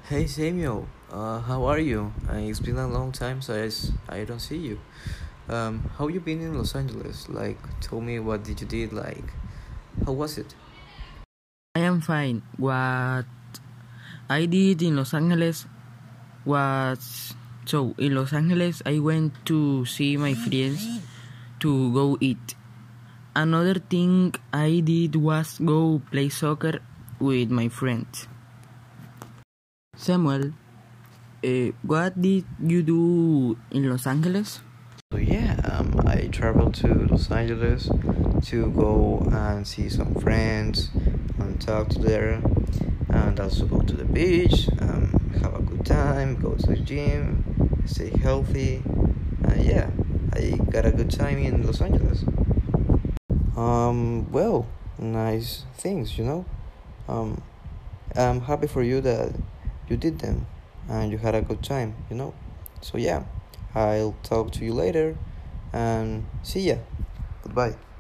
Hey Samuel, how are you? It's been a long time since I don't see you. How you been in Los Angeles? Like, tell me what did you did? Like, how was it? I am fine. What I did in Los Angeles was in Los Angeles I went to see my friends to go eat. Another thing I did was go play soccer with my friends. Samuel, what did you do in Los Angeles? So yeah, I traveled to Los Angeles to go and see some friends and talk to them, and also go to the beach, have a good time, go to the gym, stay healthy. Yeah, I got a good time in Los Angeles. Well, nice things. Um, I'm happy for you that you did them and you had a good time. So yeah, I'll talk to you later and see ya. Goodbye.